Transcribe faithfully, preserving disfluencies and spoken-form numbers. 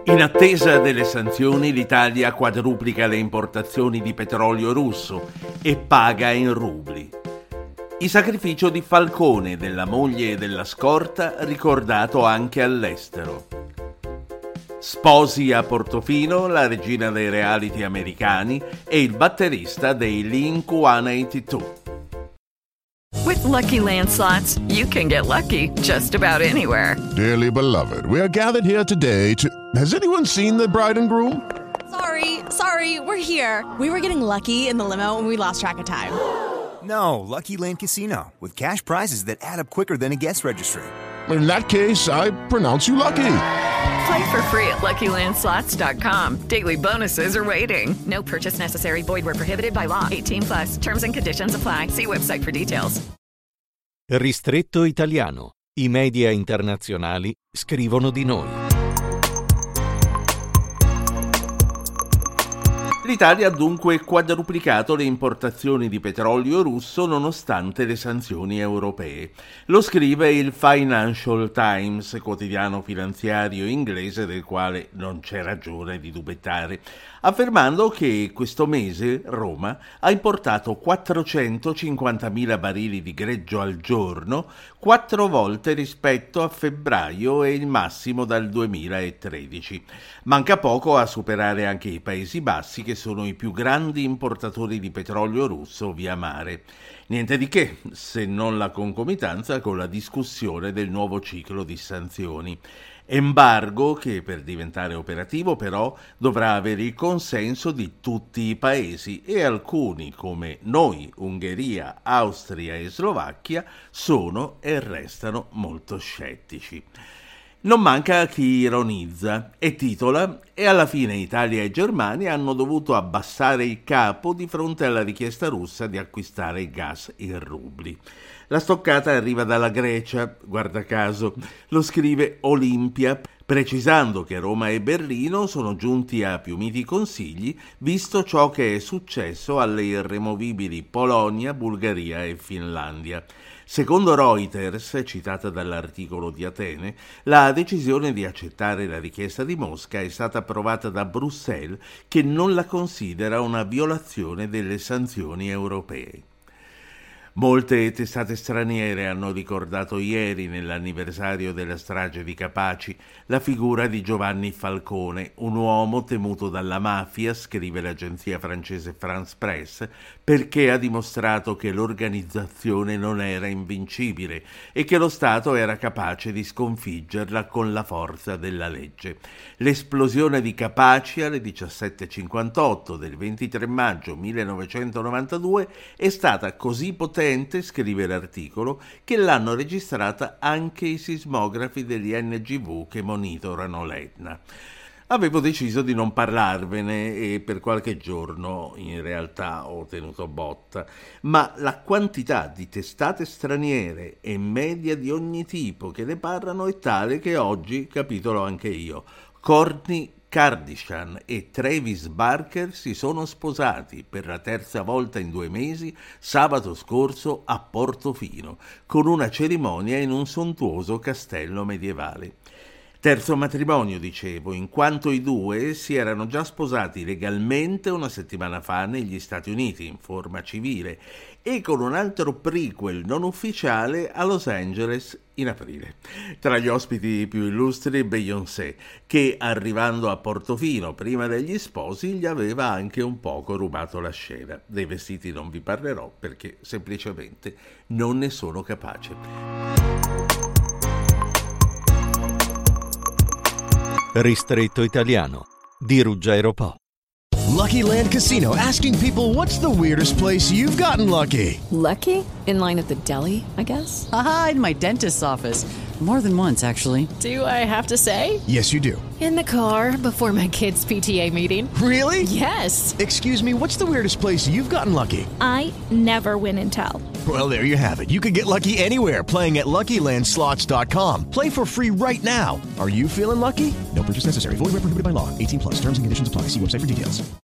In attesa delle sanzioni, l'Italia quadruplica le importazioni di petrolio russo e paga in rubli. Il sacrificio di Falcone, della moglie e della scorta, ricordato anche all'estero. Sposi a Portofino, la regina dei reality americani e il batterista dei Blink centottantadue. With Lucky Land Slots, you can get lucky just about anywhere. Dearly beloved, we are gathered here today to... Has anyone seen the bride and groom? Sorry, sorry, we're here. We were getting lucky in the limo and we lost track of time. No, Lucky Land Casino, with cash prizes that add up quicker than a guest registry. In that case, I pronounce you lucky. Play for free at Lucky Land Slots dot com. Daily bonuses are waiting. No purchase necessary. Void where prohibited by law. eighteen plus. Terms and conditions apply. See website for details. Ristretto italiano. I media internazionali scrivono di noi. L'Italia ha dunque quadruplicato le importazioni di petrolio russo nonostante le sanzioni europee. Lo scrive il Financial Times, quotidiano finanziario inglese del quale non c'è ragione di dubettare, affermando che questo mese Roma ha importato quattrocentocinquantamila barili di greggio al giorno, quattro volte rispetto a febbraio e il massimo dal duemilatredici. Manca poco a superare anche i Paesi Bassi, che sono i più grandi importatori di petrolio russo via mare. Niente di che, se non la concomitanza con la discussione del nuovo ciclo di sanzioni. Embargo che per diventare operativo però dovrà avere il consenso di tutti i paesi e alcuni come noi, Ungheria, Austria e Slovacchia sono e restano molto scettici. Non manca chi ironizza e titola «E alla fine Italia e Germania hanno dovuto abbassare il capo di fronte alla richiesta russa di acquistare il gas in rubli». La stoccata arriva dalla Grecia, guarda caso, lo scrive Olimpia, precisando che Roma e Berlino sono giunti a più miti consigli, visto ciò che è successo alle irremovibili Polonia, Bulgaria e Finlandia. Secondo Reuters, citata dall'articolo di Atene, la decisione di accettare la richiesta di Mosca è stata approvata da Bruxelles, che non la considera una violazione delle sanzioni europee. Molte testate straniere hanno ricordato ieri, nell'anniversario della strage di Capaci, la figura di Giovanni Falcone, un uomo temuto dalla mafia, scrive l'agenzia francese France Presse, perché ha dimostrato che l'organizzazione non era invincibile e che lo Stato era capace di sconfiggerla con la forza della legge. L'esplosione di Capaci alle diciassette e cinquantotto del ventitré maggio millenovecentonovantadue è stata così potente, scrive l'articolo, che l'hanno registrata anche i sismografi degli N G V che monitorano l'Etna. Avevo deciso di non parlarvene e per qualche giorno in realtà ho tenuto botta, ma la quantità di testate straniere e media di ogni tipo che ne parlano è tale che oggi capitolo anche io. Kourtney Kardashian e Travis Barker si sono sposati per la terza volta in due mesi sabato scorso a Portofino, con una cerimonia in un sontuoso castello medievale. Terzo matrimonio, dicevo, in quanto i due si erano già sposati legalmente una settimana fa negli Stati Uniti in forma civile e con un altro prequel non ufficiale a Los Angeles in aprile. Tra gli ospiti più illustri Beyoncé, che arrivando a Portofino prima degli sposi gli aveva anche un poco rubato la scena. Dei vestiti non vi parlerò perché semplicemente non ne sono capace. Ristretto italiano di Ruggero Po. Lucky Land Casino, asking people, what's the weirdest place you've gotten lucky? Lucky? In line at the deli, I guess? Aha, in my dentist's office. More than once, actually. Do I have to say? Yes, you do. In the car before my kids' P T A meeting. Really? Yes. Excuse me, what's the weirdest place you've gotten lucky? I never win and tell. Well, there you have it. You can get lucky anywhere, playing at Lucky Land Slots dot com. Play for free right now. Are you feeling lucky? No purchase necessary. Void where prohibited by law. eighteen plus. Terms and conditions apply. See website for details.